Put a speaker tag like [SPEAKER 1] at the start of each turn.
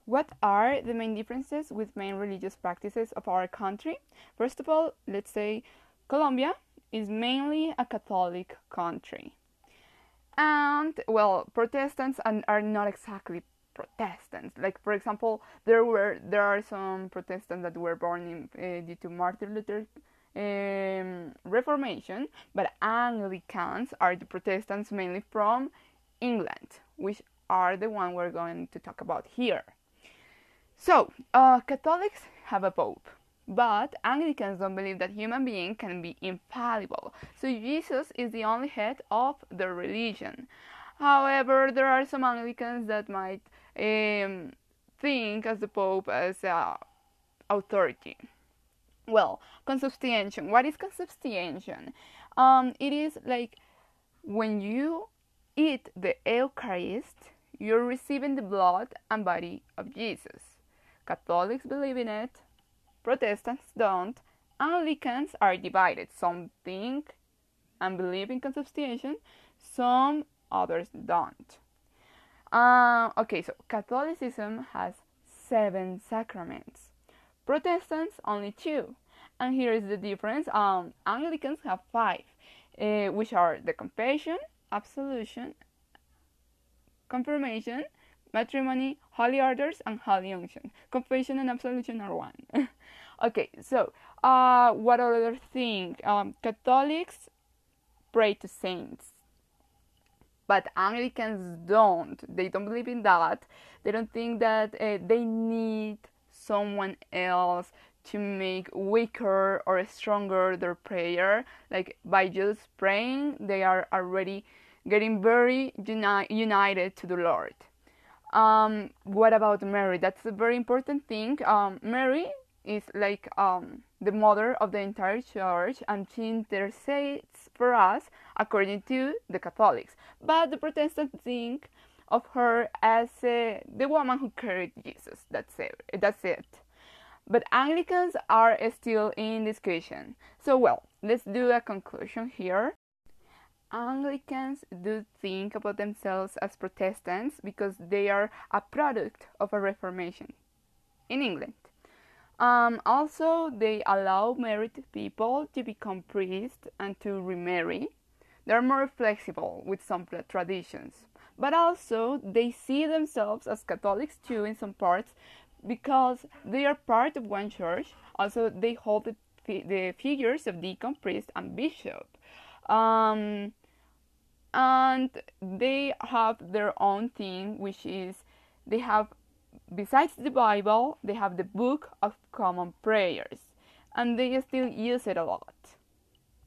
[SPEAKER 1] What are the main differences with main religious practices of our country? First of all, let's say Colombia is mainly a Catholic country. And, well, Protestants are not exactly Protestants. Like, for example, there are some Protestants that were born due to Martin Luther Reformation, but Anglicans are the Protestants mainly from England, which are the one we're going to talk about here. So, Catholics have a pope, but Anglicans don't believe that human being can be infallible. So Jesus is the only head of the religion. However, there are some Anglicans that might think as the pope as authority. Well, consubstantiation. What is consubstantiation? It is like when you eat the Eucharist, you're receiving the blood and body of Jesus. Catholics believe in it, Protestants don't, Anglicans are divided. Some think and believe in consubstantiation, some others don't. Okay, so Catholicism has 7 sacraments, Protestants only 2. And here is the difference. Anglicans have 5, which are the confession, absolution, confirmation, matrimony, holy orders, and holy unction. Confession and absolution are 1. Okay, so what other thing? Catholics pray to saints, but Anglicans don't. They don't believe in that. They don't think that they need someone else to make weaker or stronger their prayer. Like, by just praying, they are already getting very united to the Lord. What about Mary? That's a very important thing. Mary is like the mother of the entire church, and she intercedes for us according to the Catholics. But the Protestants think of her as the woman who carried Jesus. That's it. But Anglicans are still in discussion. So, well, let's do a conclusion here. Anglicans do think about themselves as Protestants because they are a product of a Reformation in England. Also, they allow married people to become priests and to remarry. They're more flexible with some traditions. But also, they see themselves as Catholics too in some parts because they are part of one church. Also, they hold the figures of deacon, priest, and bishop. And they have their own thing, which is they have, besides the Bible, they have the Book of Common Prayers, and they still use it a lot.